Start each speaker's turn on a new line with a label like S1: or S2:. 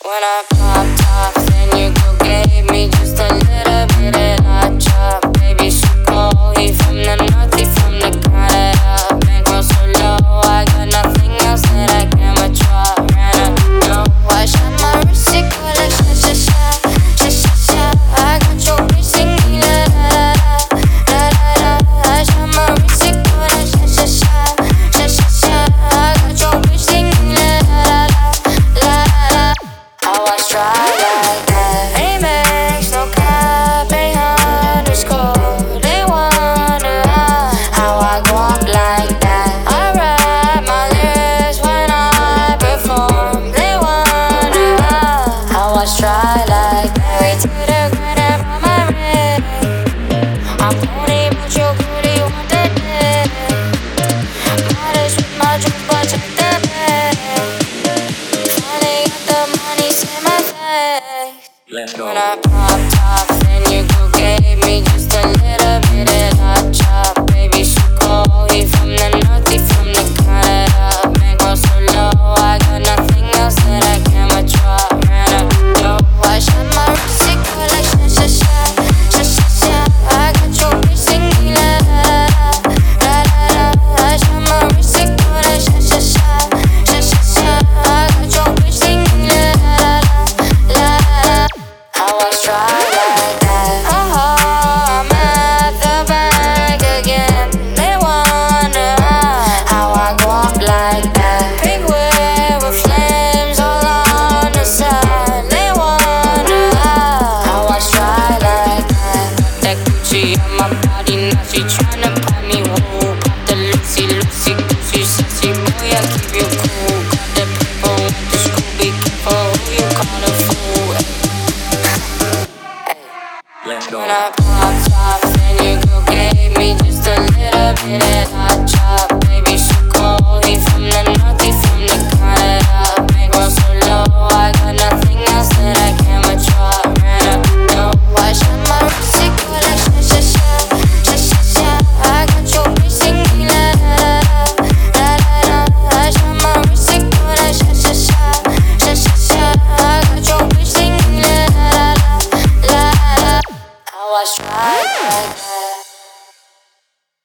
S1: When I popped off, then you go gave me just a little bit of that chop. Baby, she cold, he from the north, he from the Canada. Bankroll so low, I got nothing else that I can withdraw. Ran up, no, I shot my wrist, it go like sha sha sha, sha sha sha. I got your bitch singing la la la la la la. I shot my wrist, it go like sha sha sha, sha sha sha. I got your bitch singing la la la la la. I was try like that. Amex, no cap, ain't underscore. They wonder how I go up like that. I rap my lyrics when I perform. They wonder how I try like that. Married to the grind on my ring. I'm pony, but you really want the dick. Modest with my drink, but check the bag. Finally got the money, say my face.
S2: Let's go.
S1: When I popped off, then you go gave me just a little bit of that chop. Baby, she cold, he from the north, he from the Canada. Bankroll so low, I got nothing else that I can withdraw. Ran up, yo, I shot my wrist, it go like sha sha sha, sha sha sha. I got your bitch singing la la la la la la. I shot my wrist, it go like sha sha sha, sha sha sha. I got your bitch singing la la la la la. I was try like that. I'm at the bank again. They wonder how I go up like that. Big whip with flames all on the side. They wonder how I try like that. Got that Gucci on my body, now she tryna buy me woo. Pop the Lucy, Lucy, Gucci, sexy boy, I keep you cool. Got the people with the school, be careful who you call a fool.
S2: Let's go.
S1: When I popped off, then you go gave me just a little bit of